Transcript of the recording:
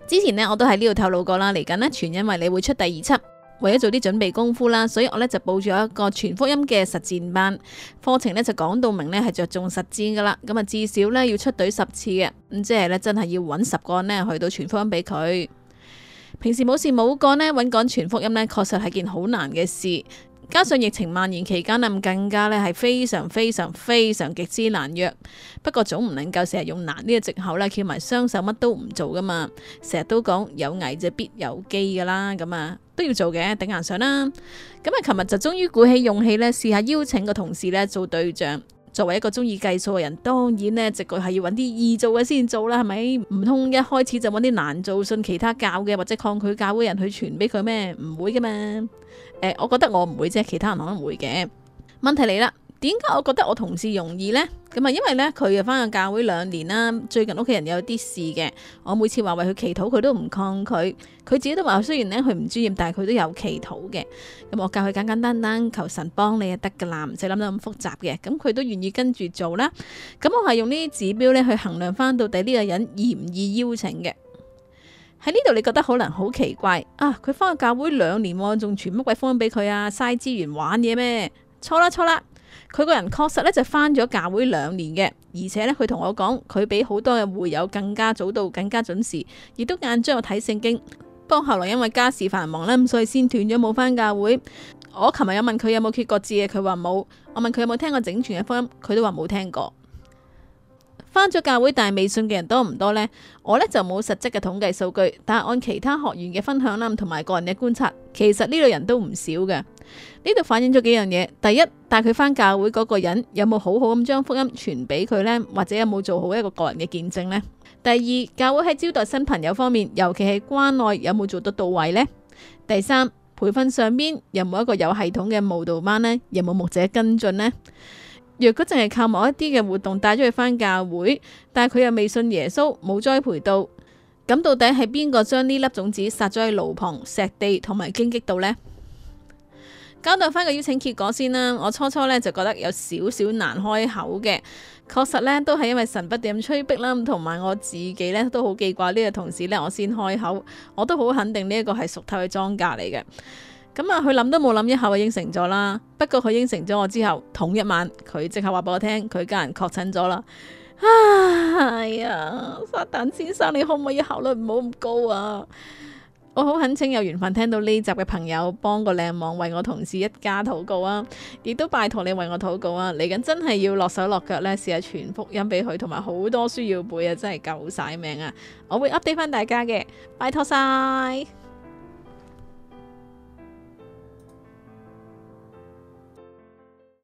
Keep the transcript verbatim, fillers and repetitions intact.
之前呢，我都喺呢度透露過啦，嚟緊呢，全因為你會出第二輯，為咗做啲準備功夫啦，所以我呢就報咗一個全福音嘅實戰班課程呢，就講到明呢係着重實戰噶啦，咁啊至少呢要出隊十次嘅，咁即係呢真係要揾十個人呢去到全福音俾佢。平時冇事冇幹呢，揾講全福音呢確實係件好難嘅事，加上疫情蔓延期間呢，更加呢係非常非常非常極之難約。不過總唔能夠成日用難呢個藉口呢，翹埋雙手乜都唔做噶嘛。成日都講有危就必有機噶啦，咁啊都要做嘅，頂硬上啦。咁啊，琴日就終於鼓起勇氣呢，試下邀請個同事呢做對象。作為一個中意計數嘅人，當然呢直覺係要揾啲易做嘅先做啦，係咪？唔通一開始就揾啲難做、信其他教嘅或者抗拒教會人去傳俾佢咩？唔會噶嘛。誒、呃，我覺得我唔會啫，其他人可能會嘅。問題嚟啦，點解我覺得我同事容易呢？咁啊，因為呢，佢又翻咗教會兩年啦，最近屋企人有啲事嘅，我每次話為佢祈禱，佢都唔抗拒。佢自己都話，雖然呢，佢唔專業，但係佢都有祈禱嘅。咁我教佢簡簡單單求神幫你就得噶啦，唔使諗得咁複雜嘅。咁佢都願意跟住做啦。咁我係用呢啲指標呢去衡量翻到底呢個人易唔易邀請嘅。喺呢度你覺得可能好奇怪啊？佢翻咗教會兩年，仲傳乜鬼福音俾佢啊？嘥資源玩嘢咩？錯啦錯啦！佢個人確實咧就翻咗教會兩年嘅，而且咧佢同我講，佢比好多嘅會友更加早到，更加準時，亦都間中有睇聖經。不過後來因為家事繁忙啦，咁所以先斷咗冇翻教會。我琴日有問佢有冇揭過字嘅，佢話冇。我問佢有冇聽過整全嘅福音，佢都話冇聽過。翻咗教會但係未信嘅人多唔多呢？我呢就冇實質嘅統計數據，但係按其他學員嘅分享啦，同埋個人嘅觀察，其實呢類人都唔少嘅。呢度反映咗幾樣嘢。第一，帶佢翻教會嗰個人有冇好好咁將福音傳俾佢呢？或者有冇做好一個個人嘅見證呢？第二，教會喺招待新朋友方面，尤其係關愛，有冇做得到位呢？第三，培訓上邊有冇一個有系統嘅慕道班呢？有冇牧者跟進呢？若果淨係靠某一啲嘅活動帶咗佢返教會，但係佢又未信耶穌，冇栽培到，咁到底係邊個將呢粒種子撒咗喺路旁、石地同埋荊棘度呢？交代翻個邀請結果先啦。我初初呢就覺得有少少難開口嘅，確實呢都係因為神不斷咁催逼啦，同埋我自己呢都好記掛呢個同事呢，我先開口，我都好肯定呢一個係屬透嘅莊稼嚟嘅。咁啊，佢諗都冇諗一下就應承咗啦。不過佢應承咗我之後，同一晚佢即刻話俾我聽，佢家人確診咗啦。哎呀，撒旦先生，你可唔可以效率唔好咁高啊？我好懇請有緣分聽到呢集嘅朋友幫個靚網為我同事一家禱告啊，亦都拜託你為我禱告啊。嚟緊真係要落手落腳呢，試下傳福音俾佢，同埋好多書要背啊，真係救晒命啊！我會 update 翻大家嘅，拜託晒。